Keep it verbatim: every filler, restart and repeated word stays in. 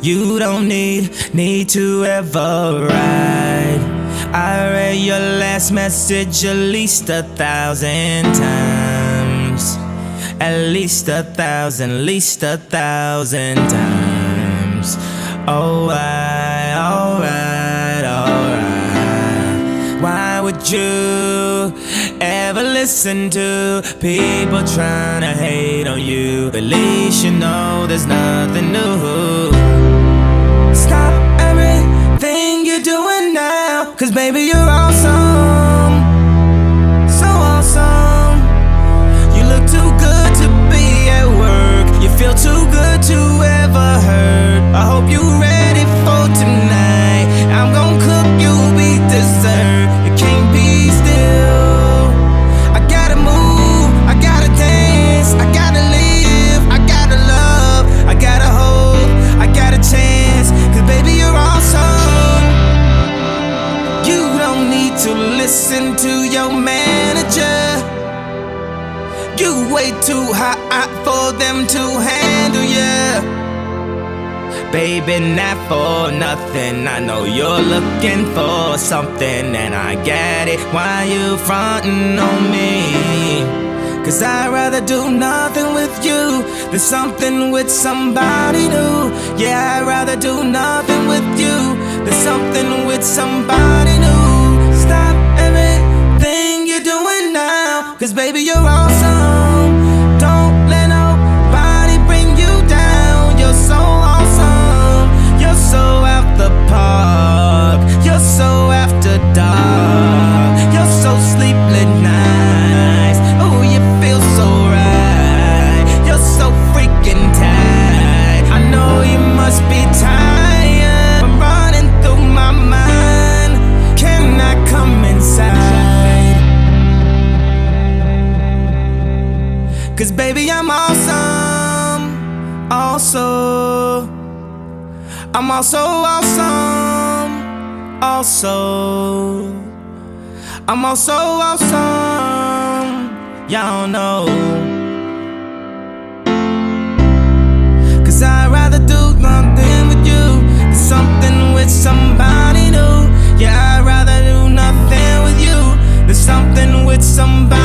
You don't need, need to ever ride. I read your last message at least a thousand times. At least a thousand, at least a thousand times. Alright, alright, alright. Why would you ever listen to people trying to hate on you? At least you know there's nothing new. Stop everything you're doing now, 'cause baby you're awesome. So awesome. You look too good to be at work. You feel too good to ever hurt. I hope you're ready for tonight. I'm gonna cook you beef dessert. You can't be still. I gotta move, I gotta dance, I gotta live, I gotta love, I gotta hope, I got a chance. 'Cause baby you're awesome. You don't need to listen to your manager. You way too hot for them to handle ya. Baby, not for nothing. I know you're looking for something, and I get it. Why you frontin' on me? 'Cause I'd rather do nothing with you than something with somebody new. Yeah, I'd rather do nothing with you than something with somebody new. Stop everything you're doing now, 'cause baby you're awesome. Don't let nobody bring you down. You're so awesome. You're so out the park. You're so after dark. You're so sleepless nights. Oh, you feel so right. You're so freaking tight. I know you must be tired. I'm running through my mind. Can I come inside? 'Cause baby I'm awesome. Also, I'm also awesome. Also, I'm also awesome. Y'all know. 'Cause I'd rather do nothing with you than something with somebody new. Yeah, I'd rather do nothing with you than something with somebody